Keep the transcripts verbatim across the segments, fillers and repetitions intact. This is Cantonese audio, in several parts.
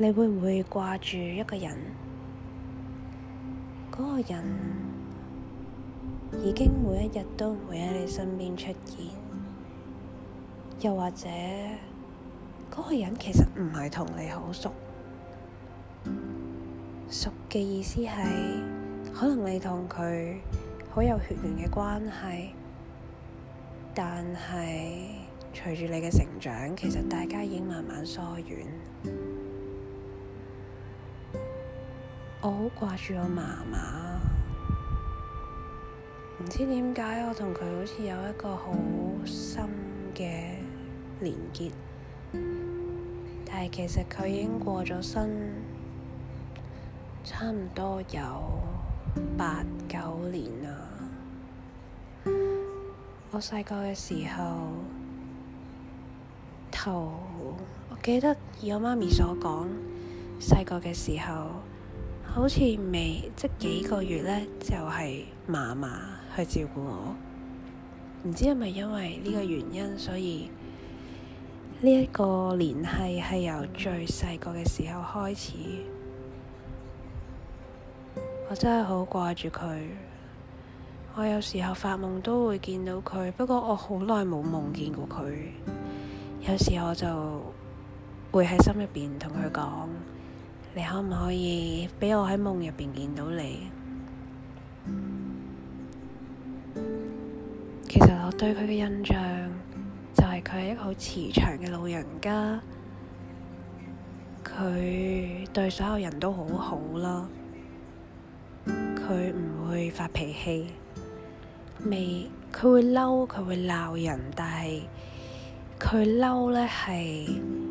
你會唔會掛住一個人？嗰個人已經每一日都唔會喺你身邊出現，又或者嗰個人其實唔係同你好熟。熟嘅意思係，可能你同佢好有血緣嘅關係，但係隨住你嘅成長，其實大家已經慢慢疏遠。我好掛住我嫲嫲，唔知點解我同佢好似有一個好深嘅連結，但係其實佢已經過咗身，差唔多有八九年啦。我細個嘅時候，頭我記得以我媽咪所講，細個嘅時候好似未即幾個月咧，就係嫲嫲去照顧我。唔知係咪因為呢個原因，所以呢一個聯繫係由最細個嘅時候開始。我真係好掛住佢，我有時候發夢都會見到佢，不過我好耐冇夢見過佢。有時候我就會喺心入邊同佢講，你可唔可以畀我喺夢入邊見到你？其實我對佢嘅印象就係佢係一個好慈祥嘅老人家，佢對所有人都好好啦。佢唔會發脾氣，未佢會嬲，佢會鬧人，但係佢嬲咧係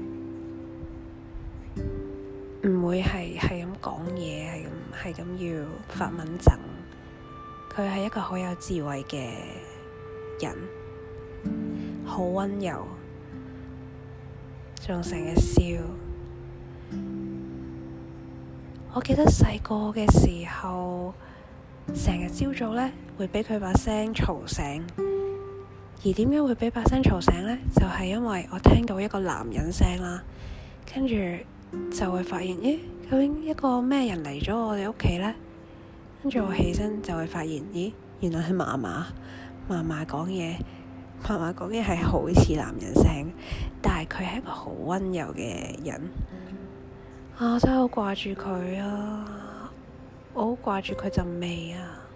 唔會係係咁講嘢，係咁係咁要發敏憎。佢係一個好有智慧嘅人，好溫柔，仲成日笑。我記得細個嘅時候，成日朝早咧會畀佢把聲嘈醒，而點解會畀把聲嘈醒咧？就係因為我聽到一個男人聲啦，跟住就會發現，咦，究竟一個咩人嚟咗我哋屋企咧？跟住我起身就會發現，咦，原來係嫲嫲，嫲嫲講嘢，嫲嫲講嘢係好似男人聲，但係佢係一個好溫柔嘅人。啊！我真係好掛住佢啊！我好掛住佢陣味啊！